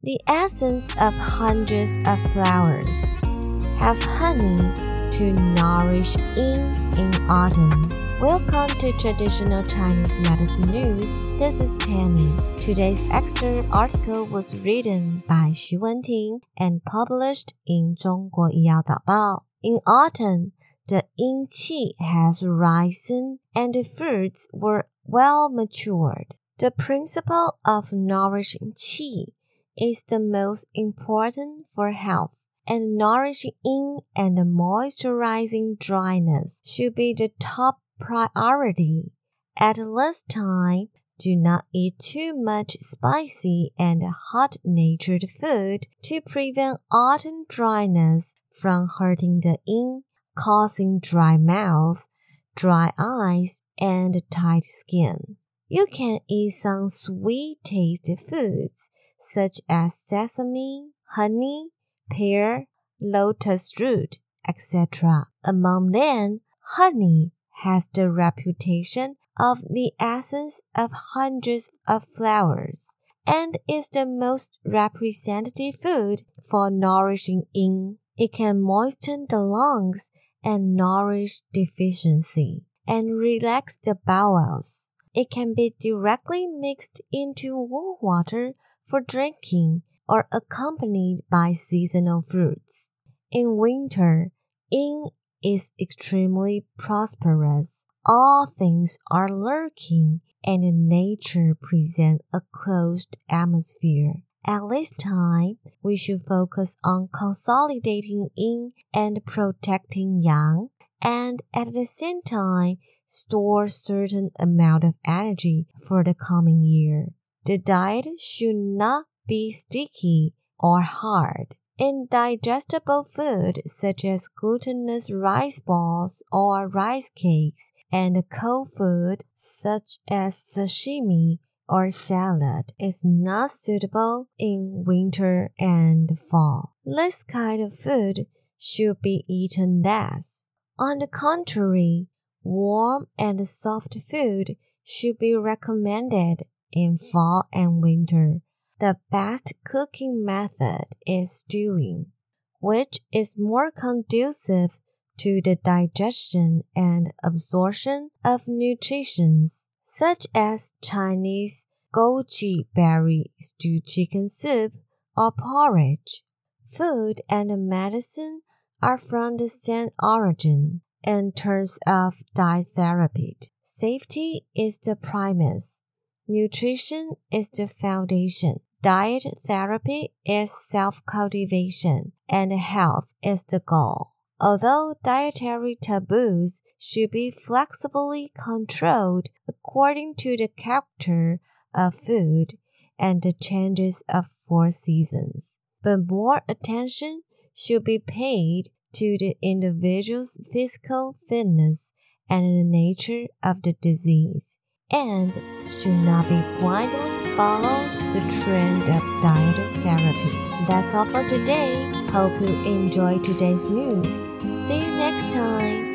The essence of hundreds of flowers. Have honey to nourish in autumn. Welcome to Traditional Chinese Medicine News. This is Tammy. Today's excerpt article was written by Xu Wenting and published in 中国医药导报. In autumn, the yin qi has risen and the fruits were well matured. The principle of nourishing qi is the most important for health, and nourishing yin and moisturizing dryness should be the top priority. At this time, do not eat too much spicy and hot-natured food to prevent autumn dryness from hurting the yin, causing dry mouth, dry eyes, and tight skin. You can eat some sweet-tasted foods such as sesame, honey, pear, lotus root, etc. Among them, honey has the reputation of the essence of hundreds of flowers and is the most representative food for nourishing yin. It can moisten the lungs and nourish deficiency and relax the bowels. It can be directly mixed into warm water for drinking or accompanied by seasonal fruits. In winter, yin is extremely prosperous. All things are lurking and nature presents a closed atmosphere. At this time, we should focus on consolidating yin and protecting yang, and at the same time, store certain amount of energy for the coming year. The diet should not be sticky or hard. Indigestible food such as glutinous rice balls or rice cakes and cold food such as sashimi or salad is not suitable in winter and fall. This kind of food should be eaten less. On the contrary, warm and soft food should be recommended in fall and winter. The best cooking method is stewing, which is more conducive to the digestion and absorption of nutrients, such as Chinese goji berry stewed chicken soup or porridge. Food and medicine are from the same origin. In terms of diet therapy, safety is the primus. Nutrition is the foundation. Diet therapy is self-cultivation, and health is the goal. Although dietary taboos should be flexibly controlled according to the character of food and the changes of 4 seasons, but more attention should be paid to the individual's physical fitness and the nature of the disease, and should not be blindly follow the trend of diet therapy. That's all for today. Hope you enjoyed today's news. See you next time.